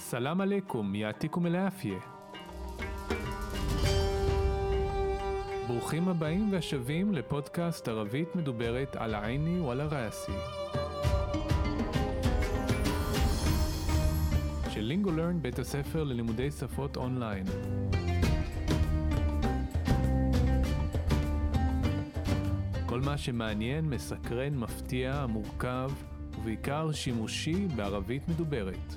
السلام عليكم يعطيكم العافية. ברוכים הבאים והשבים לפודקאסט ערבית מדוברת על עיני ועל ראסי של לינגולרן, בית הספר ללימודי שפות אונליין. כל מה שמעניין, מסקרן, מפתיע, מורכב ובעיקר שימושי בערבית מדוברת.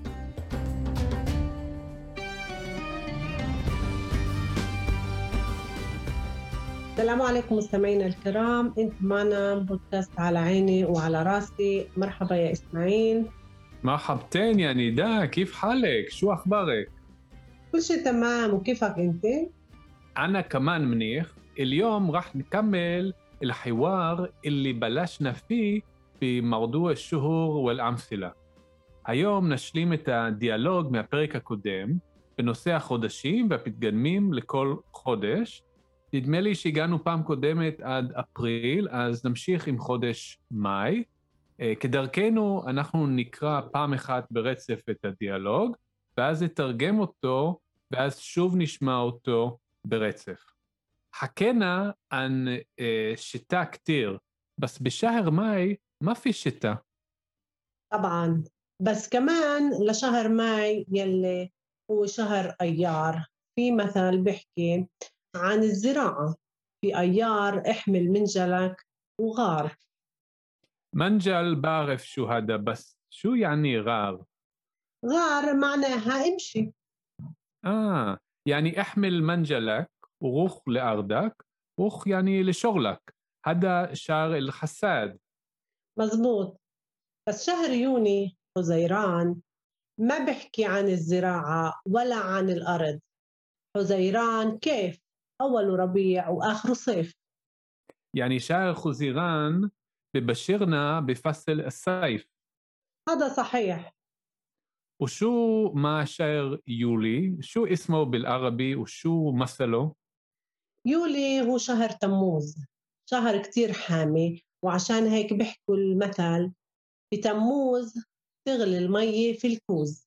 السلام عليكم مستمعينا الكرام، انت معنا بودكاست على عيني وعلى راسي. مرحبا يا اسماعيل. مرحبتين يا نداء، كيف حالك؟ شو أخبارك؟ كل شيء تمام، وكيفك انت؟ أنا كمان منيح. اليوم راح نكمل الحوار اللي بلشنا فيه بموضوع الشهور والأمثلة. היום נשלים את הדיאלוג מהפרק הקודם בנושא החודשים והפתגמים לכל חודש. נדמה לי שהגענו פעם קודמת עד אפריל, אז נמשיך עם חודש מאי. כדרכנו אנחנו נקרא פעם אחת ברצף את הדיאלוג, ואז נתרגם אותו, ואז שוב נשמע אותו ברצף. حكينا عن شتاء كتير، بس بشهر ماي ما في شتاء. طبعا، بس كمان لشهر ماي يلي هو شهر أيار، في مثل بيحكي عن الزراعة، في أيار احمل منجلك وغار. منجل بعرف شو هذا، بس شو يعني غار؟ غار معناها امشي. يعني احمل منجلك وروح لأرضك، روح يعني لشغلك. هذا شهر الحساد. مزبوط، بس شهر يوني حزيران ما بحكي عن الزراعة ولا عن الأرض. حزيران كيف أول ربيع وآخر صيف. يعني شهر خزيران ببشرنا بفصل الصيف. هذا صحيح. وشو مع شهر يولي؟ شو اسمه بالعربي وشو مثله؟ يولي هو شهر تموز، شهر كتير حامي، وعشان هيك بيحكوا المثل بتموز تغلي المي في الكوز.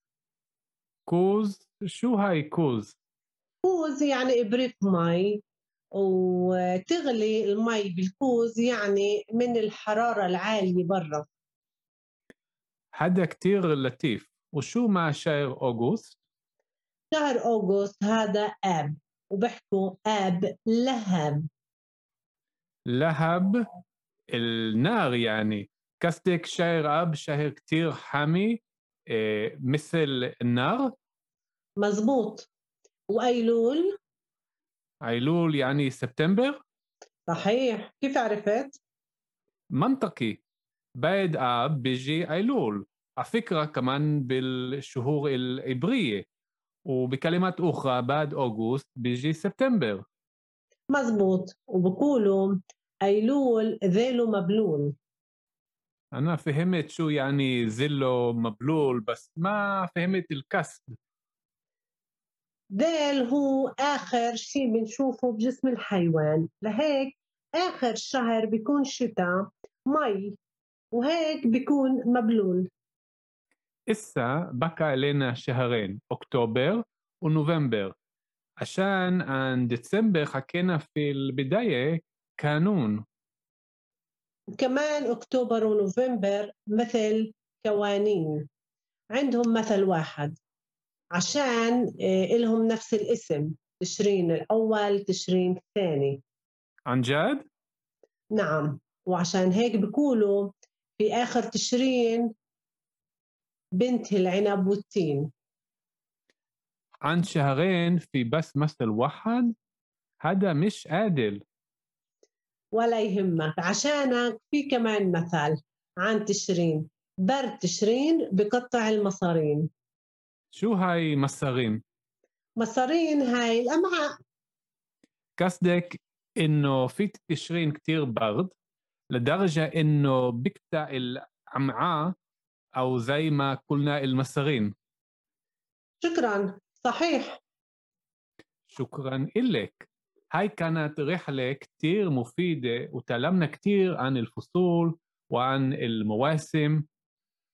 كوز؟ شو هاي كوز؟ كوز يعني إبريق مي، وتغلي المي بالكوز يعني من الحرارة العالية برا. هذا كتير لطيف. وشو مع شهر أغسطس؟ شهر أغسطس هذا آب، وبحكوا آب لهب. لهب النار يعني. قصدك شهر آب شهر كتير حامي مثل النار؟ مزبوط. وأيلول؟ أيلول يعني سبتمبر؟ صحيح، كيف عرفت؟ منطقي، بعد آب بيجي أيلول. على فكرة كمان بالشهور العبرية، وبكلمات أخرى بعد أغسطس بيجي سبتمبر. مزبوط، وبقولوا أيلول ذيله مبلول. أنا فهمت شو يعني ذله مبلول، بس ما فهمت الكسر. ذيل هو آخر شيء بنشوفه بجسم الحيوان، لهيك آخر شهر بيكون شتاء مي، وهيك بيكون مبلول. إسا بقى لنا شهرين، أكتوبر ونوفمبر، عشان عن ديسمبر حكينا في البداية كانون. كمان أكتوبر ونوفمبر مثل كوانين، عندهم مثل واحد عشان إلهم نفس الاسم، تشرين الأول تشرين الثاني. عن جد؟ نعم، وعشان هيك بيقولوا في آخر تشرين بنت العنب والتين. عن شهرين في بس مثل واحد؟ هذا مش عادل. ولا يهمك، عشانك في كمان مثل عن تشرين، برد تشرين بقطع المصارين. شو هاي مصارين؟ مصارين هاي الأمعاء. قصدك إنه في تشرين كتير برد لدرجة إنه بقطع الأمعاء، أو زي ما قلنا المصارين. شكرا، صحيح. شكرا إلك. هاي كانت رحلة كتير مفيدة، وتعلمنا كتير عن الفصول وعن المواسم.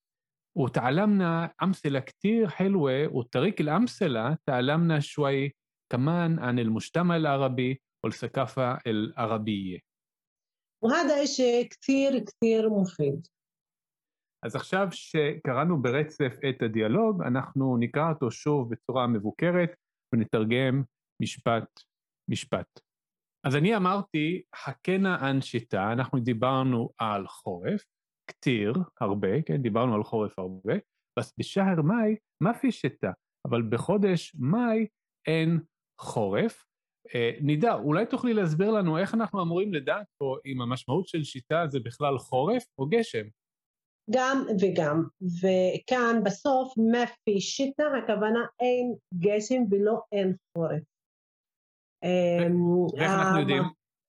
وتعلمنا أمثلة كتير حلوة، وطريق الأمثلة تعلمنا شوي كمان عن المجتمع العربي والثقافة العربية. وهذا إشي كثير كثير مفيد. אז עכשיו שקראנו ברצף את הדיאלוג, אנחנו נקרא אותו שוב בצורה מבוקרת ונתרגם משפט. אז אני אמרתי, חכנה אנשיתה, אנחנו דיברנו על חורף, כתיר, הרבה, כן, דיברנו על חורף הרבה, אז בשהר מאי, מה פי שיטה? אבל בחודש מאי אין חורף. נידה, אולי תוכלי להסביר לנו איך אנחנו אמורים לדעת פה אם המשמעות של שיטה זה בכלל חורף או גשם? גם וגם, וכאן בסוף מפי שיטה, הכוונה אין גשם ולא אין חורף. ואיך אנחנו יודעים?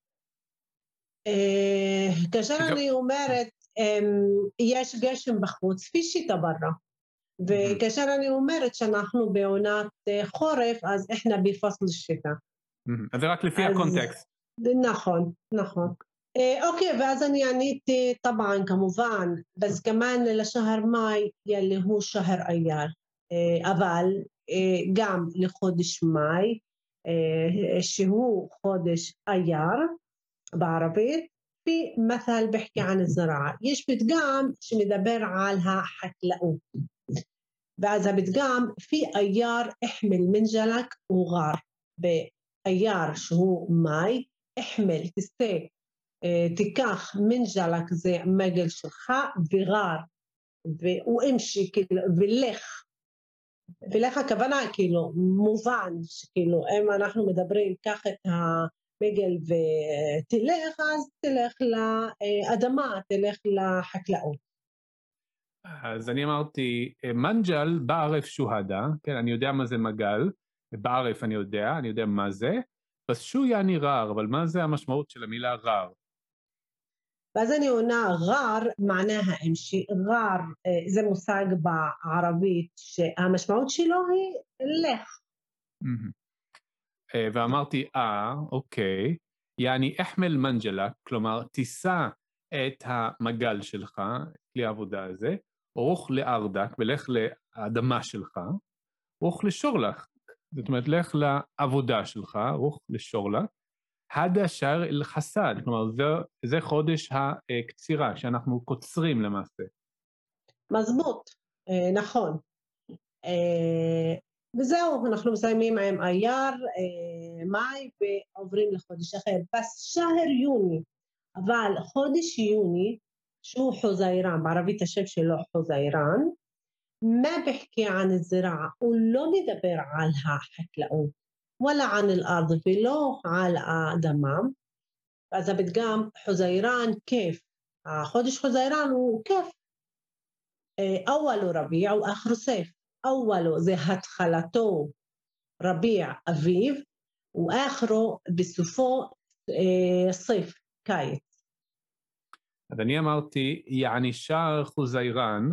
כאשר אני אומרת, יש גשם בחוץ, פי שיטה ברא. וכאשר אני אומרת שאנחנו בעונת חורף, אז אנחנו בפסל שיטה. אז זה רק לפי הקונטקסט. נכון, נכון. אוקיי, ואז אני עניתי, طبعا כמובן, בס כמן לשהר מאי ילי הוא שהר אייר, אבל גם לחודש מאי, שהוא חודש אייר בערבית, في مثل بحكي عن الزراعة. יש פתגם שמדבר על החקלאות. ואז הפתגם, في אייר احمل منجلك وغار. באייר שהוא מאי, احمل, תסתה, תיקח מנג'לק זה מגל שלך וגר ואומשי כאילו ולך הכוונה כאילו מובן שכאילו אם אנחנו מדברים קח את המגל ותלך אז תלך לאדמה, תלך לחקלאות. אז אני אמרתי מנג'ל בערף שוהדה, כן, אני יודע מה זה מגל, בערף אני יודע מה זה, אז שו יעני רר, אבל מה זה המשמעות של המילה רר? ואז אני עונה, גר, מענה האמשי, גר, זה מושג בערבית שהמשמעות שלו היא לך. ואמרתי, אוקיי, יעני אחמל מנג'לה, כלומר, תישא את המגל שלך, כלי העבודה הזה, אורוך לארדק, ולך לאדמה שלך, אורוך לשורלך, זאת אומרת, לך לעבודה שלך, אורוך לשורלך, הדה שר אל חסד, כלומר זה חודש הקצירה שאנחנו קוצרים למעשה. מזבוט, נכון. וזהו, אנחנו מסיימים עם אייר, מאי ועוברים לחודש אחר. בס שהר יוני, אבל חודש יוני, שהוא חוזיירן, בערבית השם שלו חוזיירן, מה בחכי ען הזרעה, הוא לא מדבר על החקלאות. ولا عن الأرض ולא על האדמה. אז הפתגם חוזיירן כיף, החודש חוזיירן הוא כיף. אוולו רביע ואחרו סייף. אוולו זה התחלתו רביע אביב, ואחרו בסופו סייף, קיץ. אז אני אמרתי, יעני שער חוזיירן,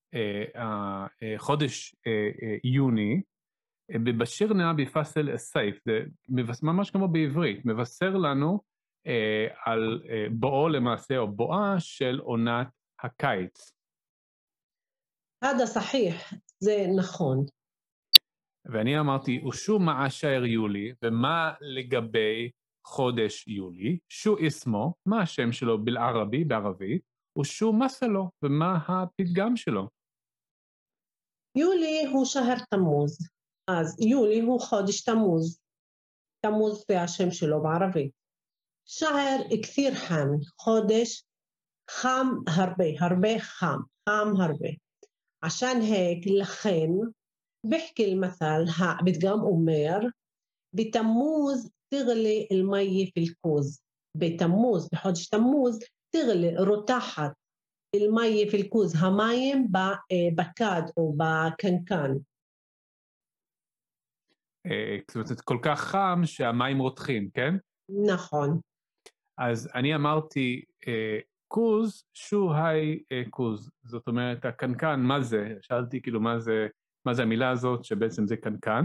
חודש יוני, בבשירנה בפסל סייף, זה ממש כמו בעברית, מבשר לנו על בואו למעשה או בואה של עונת הקיץ. هذا صحيح, זה נכון. ואני אמרתי, ושו מעשר יולי, ומה לגבי חודש יולי? שו אסמו, מה השם שלו בערבי, בערבית, ושו מסלו, ומה הפתגם שלו? יולי הוא שהר תמוז. אז יולי הוא חודש תמוז. תמוז זה השם שלו בערבית. שהר כתיר חם, חודש חם הרבה חם הרבה. עשן היק לכן, בחכי المثل, הפתגם אומר, בתמוז תגלי المي في الكوز. בתמוז, בחודש תמוז, תגלי, רותחת, المي في الكوز, המים בבקד או בקנקן. זאת אומרת, כל כך חם שהמים רותחים, כן? נכון. אז אני אמרתי, קוז, שו היי קוז, זאת אומרת, הקנקן, מה זה? שאלתי כאילו מה זה המילה הזאת שבעצם זה קנקן?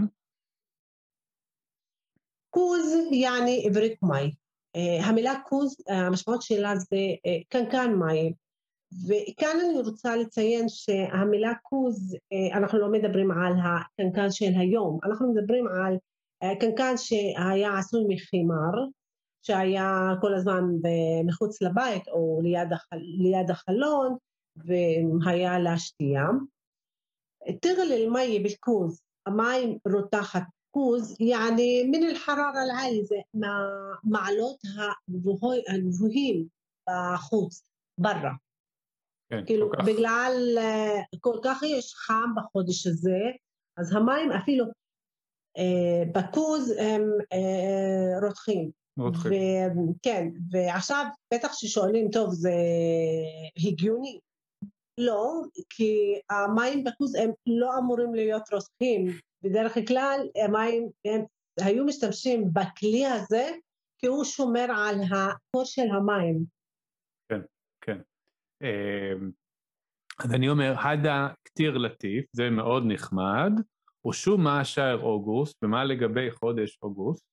קוז יעני עברית מי. המילה קוז, המשמעות שלה זה קנקן מים. וכאן אני רוצה לציין שהמילה כוז, אנחנו לא מדברים על הקנקן של היום, אנחנו מדברים על קנקן שהיה עשוי מחימר, שהיה כל הזמן מחוץ לבית או ליד החלון, והיה להשתייה. تغلي المي بالكوز، المي رتاحة كوز يعني من الحرارة العالية زي معلوتها الجبهين בחוץ, برا. כן, כאילו, כל כך. בגלל כל כך יש חם בחודש הזה, אז המים אפילו בכוז הם רותחים. רותחים. כן, ועכשיו בטח ששואלים, טוב, זה הגיוני. לא, כי המים בכוז הם לא אמורים להיות רותחים. בדרך כלל המים הם היו משתמשים בכלי הזה, כי הוא שומר על הקור של המים. כן, כן. אז אני אומר, הדה כתיר לטיף, זה מאוד נחמד, ושום מה שער אוגוסט, ומה לגבי חודש אוגוסט?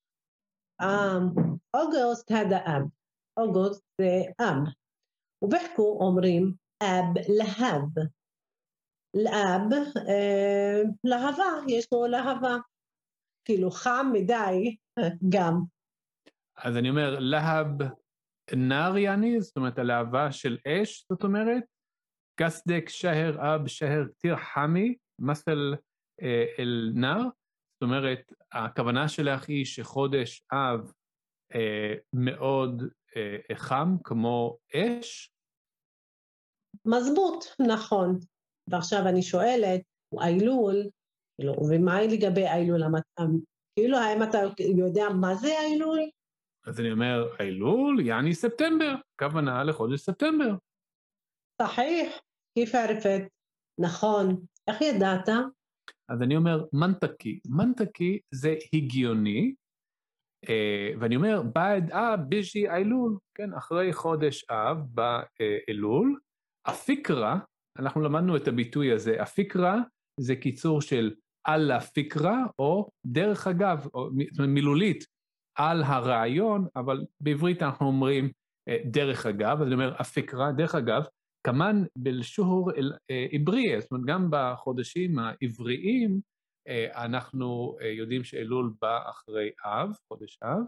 אוגוסט הדה אב, אוגוסט זה אב, ובחקו אומרים אב להב, לאב להבה, יש לו להבה, כאילו חם מדי גם. אז אני אומר, להב נר יעני, זאת אומרת, הלהבה של אש, זאת אומרת, קסדק שהר אב שהר כתיר חמי, מסל אל נר, זאת אומרת, הכוונה שלך היא שחודש אב מאוד חם, כמו אש? מזבוט, נכון. ועכשיו אני שואלת, אילול, ומה לגבי אילול? כאילו, האם אתה יודע מה זה אילול? אז אני אומר, אילול, יעני ספטמבר, כוונה לחודש ספטמבר. صحيح, כיף ערפת, נכון. איך ידעת? אז אני אומר, מנטקי. מנטקי זה הגיוני, ואני אומר, בעד אב ביז'י אילול, כן, אחרי חודש אב באלול, הפיקרה, אנחנו למדנו את הביטוי הזה, הפיקרה זה קיצור של על הפיקרה, או דרך אגב, או מילולית, על הרעיון, אבל בעברית אנחנו אומרים דרך אגב, אז אני אומר, הפיקרה, דרך אגב, כמן בלשור עברי, זאת אומרת, גם בחודשים העבריים, אנחנו יודעים שאלול בא אחרי אב, חודש אב,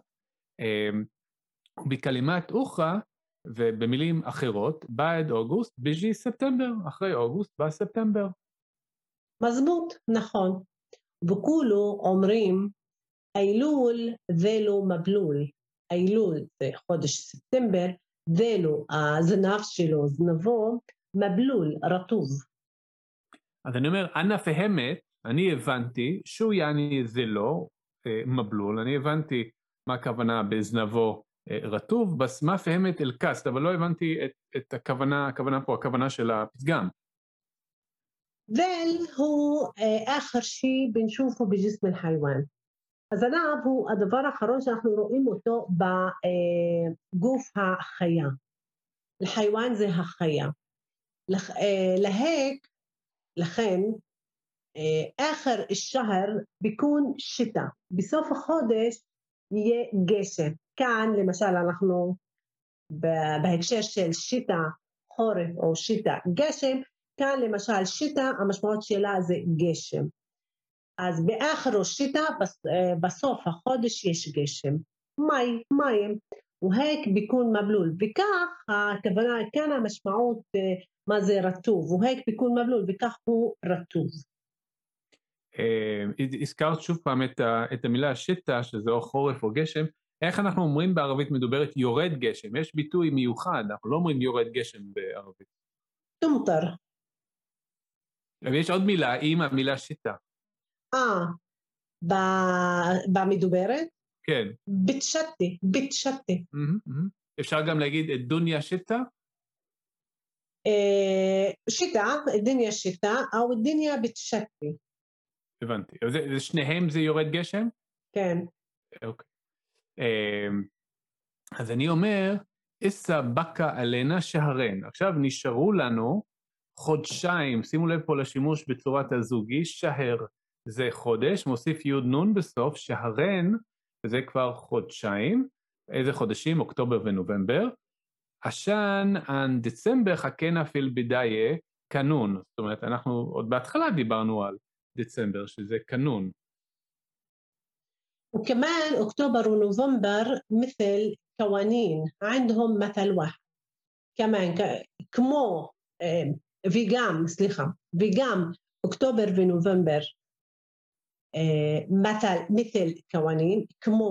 בקלימת אוחה, ובמילים אחרות, בעד אוגוסט, ביז'י ספטמבר, אחרי אוגוסט בא ספטמבר. מזבוט, נכון. וכולו אומרים, אילול ולו מבלול. אילול זה חודש ספטמבר, ולו, הזנב שלו, זנבו, מבלול, רטוב. אז אני אומר, אנא פהמת, אני הבנתי, שהוא יעני זה לא מבלול, אני הבנתי מה הכוונה בזנבו רטוב, בס מה פהמת אל קסט, אבל לא הבנתי את הכוונה פה, הכוונה של הפתגם. ذيل هو آخر شيء بنشوفه بجسم الحيوان. הזנב הוא הדבר האחרון שאנחנו רואים אותו בגוף החיה. الحيوان זה החיה. להק, לכן, آخر الشهر بيكون شتاء. בסוף החודש יהיה גשם. כאן למשל אנחנו בהקשר של שיטה חורף או שיטה גשם, כאן למשל שיטה המשמעות שלה זה גשם. אז באחר שיטה בסוף החודש יש גשם. מים. והק ביקון מבלול. וכך הכוונה כאן המשמעות מה זה רטוב. והק ביקון מבלול וכך הוא רטוב. הזכרת שוב פעם את המילה שיטה, שזה או חורף או גשם. איך אנחנו אומרים בערבית מדוברת יורד גשם? יש ביטוי מיוחד, אנחנו לא אומרים יורד גשם בערבית. תומטר. ויש עוד מילה, עם המילה שיטה. במדוברת? כן. בתשתי. אפשר גם להגיד את דוניה שיטה? שיטה, דוניה שיטה, או דוניה בתשתי. הבנתי. שניהם זה יורד גשם? כן. אוקיי. אז אני אומר, איסה בקה עלינה שהרן. עכשיו נשארו לנו חודשיים, שימו לב פה לשימוש בצורת הזוגי, שהר זה חודש, מוסיף יוד נון בסוף, שהרן זה כבר חודשיים, איזה חודשים? אוקטובר ונובמבר. عشان عن ديسمبر حكينا في البداية קנון, זאת אומרת, אנחנו עוד בהתחלה דיברנו על דצמבר, שזה קנון. وكمان أكتوبر ونوفمبر مثل قوانين عندهم مثل واحد كمان كمو وגם أكتوبر ونوفمبر مثل قوانين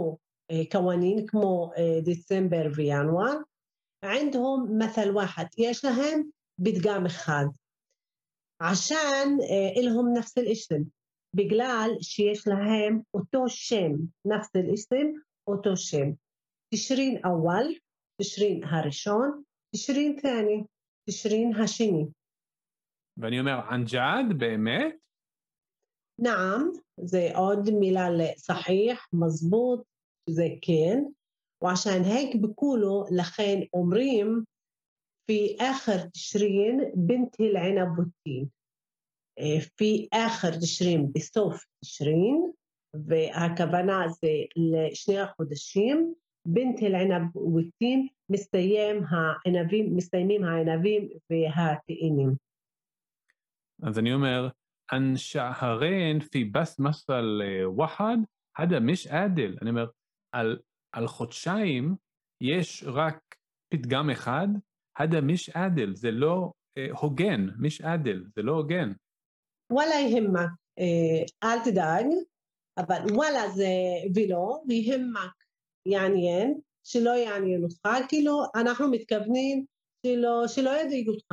כמו ديسمبر وינואר عندهم مثل واحد יש להם פתגם אחד عشان إلهم نفس الاسم בגלל שיש להם אותו שם نفس الاسم אותו שם תשרין أول תשרין הראשון תשרין ثاني תשרין השני. ואני אומר ענג'ד באמת? نعم זה עוד מילה לصحيح مظبوط זה כן وعشان هيك بيقولوا לכן אומרים في آخر تشرين بنت العنب والتين في آخر تشرين בסוף تشرين והכוונה זה לשני החודשים بنت العنب والتين מסתיימים הענבים והתאנים. אז אני אומר أن شهرين في بس مثل واحد هذا مش عادل. אני אומר על חודשיים יש רק פתגם אחד, هذا مش عادل, זה לא הוגן, مش عادل, זה לא הוגן. ولا يهمك אל תדאג, אבל וואלה זה ולא, ויהמק יעניין, שלא יעניין אותך, כאילו אנחנו מתכוונים שלא ידאיג אותך,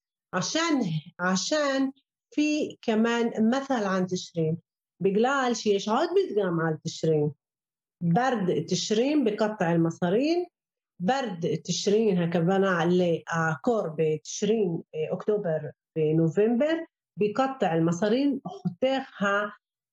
عشان في كمان مثل عن تشرين بقلال شيش عود بتقام على تشرين برد تشرين بقطع المصارين برد تشرين هكذا على كور بتشرين أكتوبر بنوفمبر بقطع المصارين خطيخها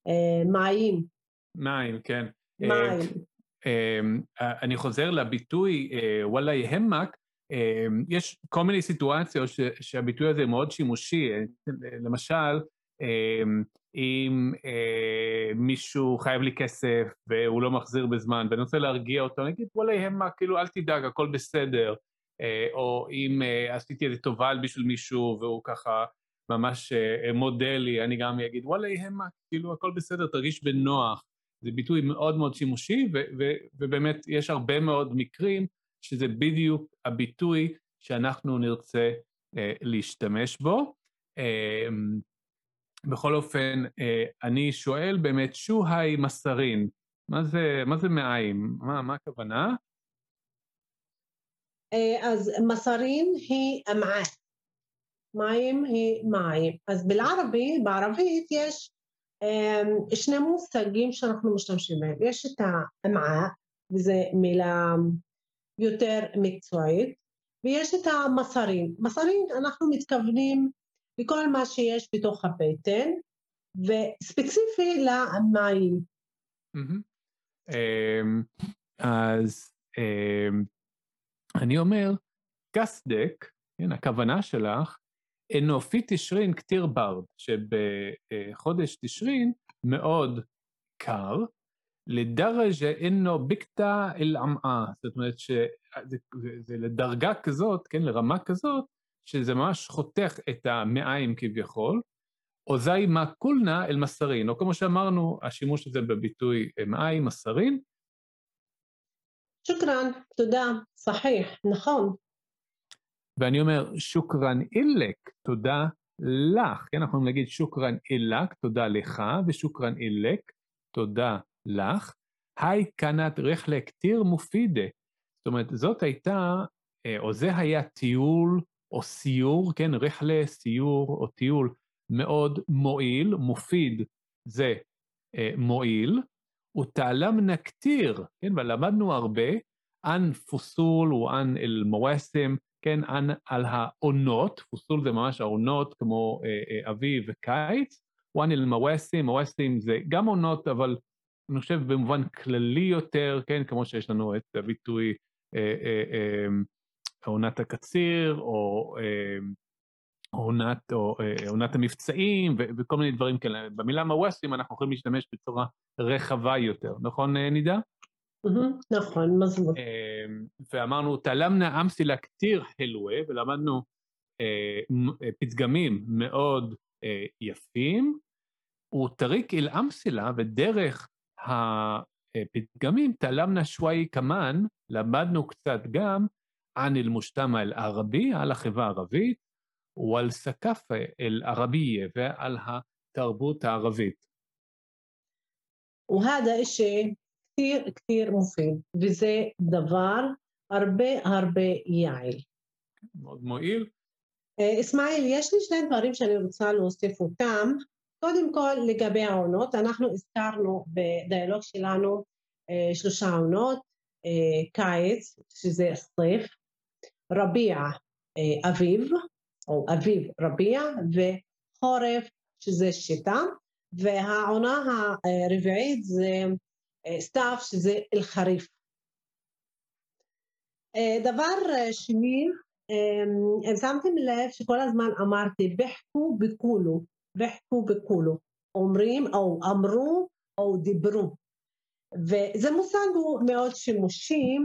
מים, כן. מים. אני חוזר לביטוי וואלה יהמק, יש כל מיני סיטואציות שהביטוי הזה מאוד שימושי, למשל, אם מישהו חייב לי כסף והוא לא מחזיר בזמן, ואני רוצה להרגיע אותו, נגיד וואלה יהמק, כאילו אל תדאג, הכל בסדר, או אם עשיתי איזה טובה בשביל מישהו והוא ככה ממש מודה לי, אני גם אגיד וואלה יהמק, כאילו הכל בסדר, תרגיש בנוח. זה ביטוי מאוד מאוד שימושי, ובאמת יש הרבה מאוד מקרים שזה בדיוק הביטוי שאנחנו נרצה להשתמש בו. בכל אופן, אני שואל באמת, שוהי מסרין, מה זה מים? מה הכוונה? אז מסרין היא אמעה, מים היא מים. אז בערבית יש שני מושגים שאנחנו משתמשים בהם. יש את האמעה, וזו מילה יותר מקצועית, ויש את המסרים. מסרים אנחנו מתכוונים לכל מה שיש בתוך הבטן, וספציפי למים. אז אני אומר, קסדק, הכוונה שלך, אנופי תשרין כתיר ברד, שבחודש תשרין מאוד קר, לדרג'ה אינו בקטע אל עמאה, זאת אומרת שזה לדרגה כזאת, כן, לרמה כזאת, שזה ממש חותך את המעיים כביכול, או זי מה כולנה אל מסרין, או כמו שאמרנו, השימוש הזה בביטוי מעיים, מסרין. שוקרן, תודה, صحيح, נכון. ואני אומר, שוקרן אילק, תודה לך, כן, אנחנו יכולים להגיד שוקרן אילק, תודה לך, ושוקרן אילק, תודה לך, היי כנת רחלה כתיר מופידה, זאת אומרת, זאת הייתה, או זה היה טיול, או סיור, כן, רחלה, סיור, או טיול מאוד מועיל, מופיד זה מועיל, ותעלמנה כתיר, כן, ולמדנו הרבה, אן פוסול ואן אל מואסם, כן, על העונות, פוסול זה ממש העונות כמו אביב וקיץ, ואן אל מואסים, מואסים זה גם עונות, אבל אני חושב במובן כללי יותר, כן, כמו שיש לנו את הביטוי עונת הקציר, או עונת המבצעים, וכל מיני דברים כאלה. במילה מואסים אנחנו יכולים להשתמש בצורה רחבה יותר, נכון נידה? נכון, מזבוط. ואמרנו, תלמנה אמסילה כתיר חילווה, ולמדנו פתגמים מאוד יפים, וטריק אל אמסילה, ודרך הפתגמים תלמנה שוואי כמן, למדנו קצת גם ען אל-מושתמע אל-ערבי, על החברה הערבית, ועל סקאפה אל-ערבייה, ועל התרבות הערבית. وهذا إشي كتير كتير مفيد وזה דבר הרבה יעיל. מאוד מועיל. אסמאעיל, יש לי שני דברים שאני רוצה להוסיף אותם. קודם כל, לגבי העונות, אנחנו הזכרנו בדיאלוג שלנו 3 עונות, קיץ, שזה סייף, רביע, אביב, או אביב רביע, וחורף, שזה שיטה, והעונה הרביעית זה סתיו, שזה אל-חריף. דבר שני, שמתם לב שכל הזמן אמרתי בחקו בקולו, אומרים או אמרו או דיברו, וזה מושג הוא מאוד שימושי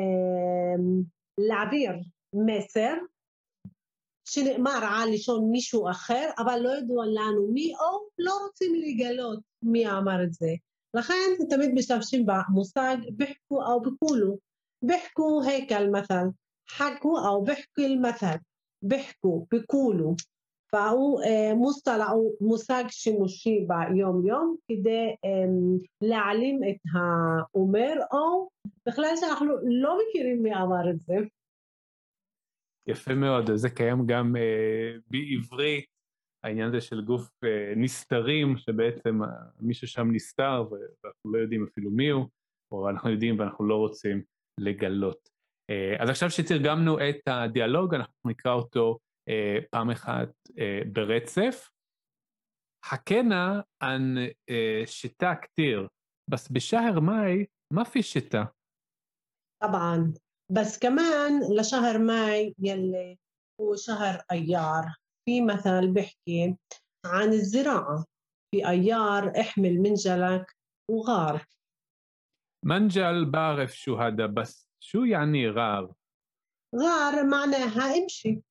להעביר מסר שנאמר על לשון מישהו אחר, אבל לא ידוע לנו מי, או לא רוצים לגלות מי אמר את זה. לכן תמיד משתמשים במושג בחקו או בקולו. בחקו היכל مثل, חכו או בחקו المثل, בחקו, בקולו. והוא מושג שימושי ביום יום כדי להעלים את האומר, או בכלל שאנחנו לא מכירים מי אמר את זה. יפה מאוד, זה קיים גם בעברית, העניין הזה של גוף נסתרים, שבעצם מישהו שם נסתר ואנחנו לא יודעים אפילו מי הוא, או אנחנו יודעים ואנחנו לא רוצים לגלות. אז עכשיו שתרגמנו את הדיאלוג, אנחנו נקרא אותו פעם אחת ברצף. חכנה ען שיטה כתיר, בס בשהר מאי, מה פי שיטה? طبعا بس كمان لشهر ماي يلي هو شهر أيار، في مثل بحكي عن الزراعة، في أيار احمل منجلك وغار. منجل بعرف شو هذا، بس شو يعني غار؟ غار معناها امشي.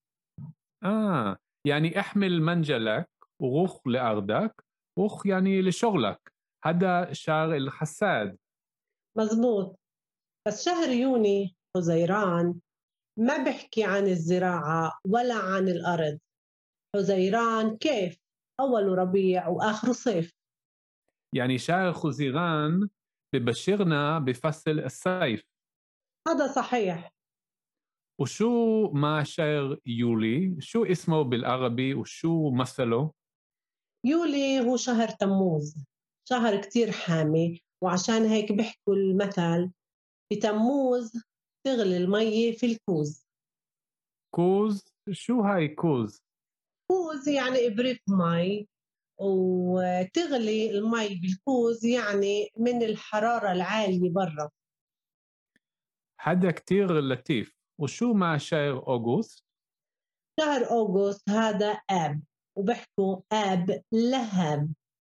يعني احمل منجلك وروح لأرضك، روح يعني لشغلك، هذا شهر الحساد. مزبوط، بس شهر يوني حزيران ما بحكي عن الزراعة ولا عن الأرض. حزيران كيف أول ربيع وآخر صيف. يعني شهر خزيران ببشرنا بفصل الصيف. هذا صحيح. وشو مع شهر يولي؟ شو اسمه بالعربي وشو مثله؟ يولي هو شهر تموز، شهر كتير حامي، وعشان هيك بيحكوا المثل بتموز تغلي المي في الكوز. كوز؟ شو هاي كوز؟ كوز يعني إبريق مي، وتغلي المي بالكوز يعني من الحرارة العالية برا. هذا كتير لطيف. وشو مع شهر أغسطس؟ شهر أغسطس هذا آب، وبحكوا آب لهب.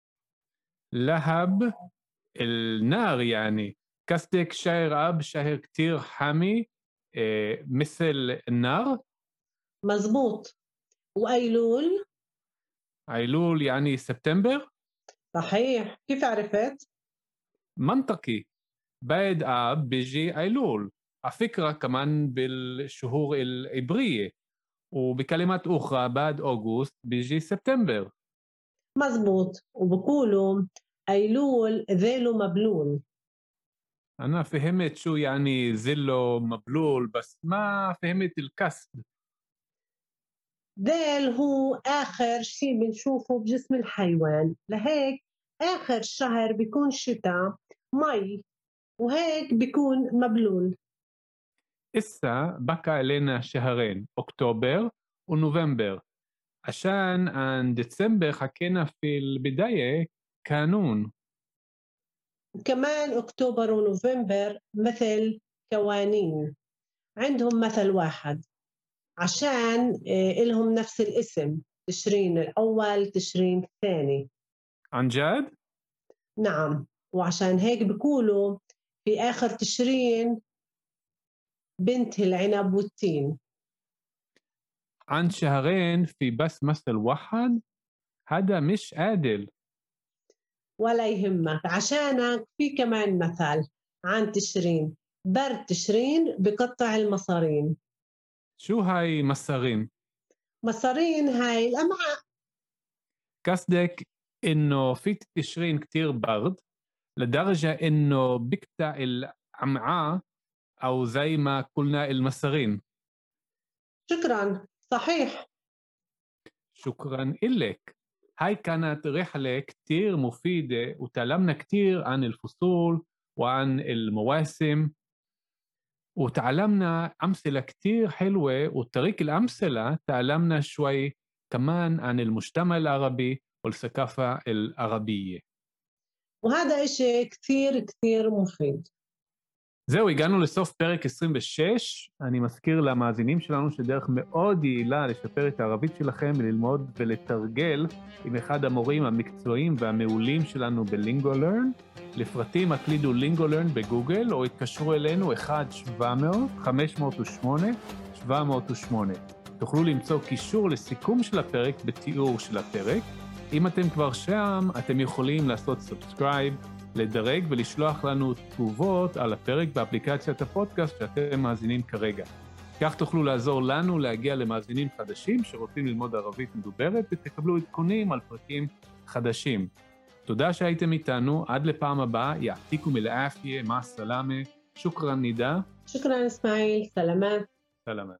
لهب النار يعني. قصدك شهر آب شهر كتير حامي مثل النار؟ مزبوط. وأيلول؟ أيلول يعني سبتمبر؟ صحيح، كيف عرفت؟ منطقي، بعد آب بيجي أيلول، على فكرة كمان بالشهور العبرية، وبكلمات أخرى بعد أغسطس بيجي سبتمبر. مزبوط، وبقولوا أيلول ذيله مبلول. أنا فهمت شو يعني زلو مبلول، بس ما فهمت الكسد. ذيل هو آخر شيء بنشوفه بجسم الحيوان، لهيك آخر شهر بيكون شتاء مي، وهيك بيكون مبلول. إسا بقى لنا شهرين، أكتوبر ونوفمبر، عشان عن ديسمبر حكينا في البداية قانون. كمان أكتوبر ونوفمبر مثل قوانين، عندهم مثل واحد عشان إلهم نفس الاسم، تشرين الأول تشرين الثاني. عن جد؟ نعم، وعشان هيك بيقولوا في آخر تشرين بنت العنب والتين. عن شهرين في بس مثل واحد، هذا مش عادل. ولا يهمك، عشانك في كمان مثل عن تشرين: برد تشرين بقطع المصارين. شو هاي مصارين؟ مصارين هاي الأمعاء. قصدك إنه في تشرين كتير برد لدرجة إنه بقطع الأمعاء، أو زي ما قلنا المصارين. شكرا، صحيح. شكرا إلك. هاي كانت رحلة كتير مفيدة وتعلمنا كتير عن الفصول وعن المواسم، وتعلمنا أمثلة كتير حلوة، وطريق الأمثلة تعلمنا شوي كمان عن المجتمع العربي والثقافة العربية. وهذا إشي كثير كثير مفيد. זהו, הגענו לסוף פרק 26. אני מזכיר למאזינים שלנו שדרך מאוד יעילה לשפר את הערבית שלכם וללמוד ולתרגל עם אחד המורים המקצועיים והמעולים שלנו בלינגולרן. לפרטים הקלידו לינגולרן בגוגל או התקשרו אלינו 1-700-508-708. תוכלו למצוא קישור לסיכום של הפרק בתיאור של הפרק. אם אתם כבר שם, אתם יכולים לעשות סאבסקרייב, לדרג ולשלוח לנו תגובות על הפרק באפליקציית הפודקאסט שאתם מאזינים כרגע. כך תוכלו לעזור לנו להגיע למאזינים חדשים שרוצים ללמוד ערבית מדוברת, ותקבלו עדכונים על פרקים חדשים. תודה שהייתם איתנו, עד לפעם הבאה, יעתיקו מלאפיה, מה סלאמה, שוקרן נידה. شكرا إسماعيل، سلامات. סלאמה.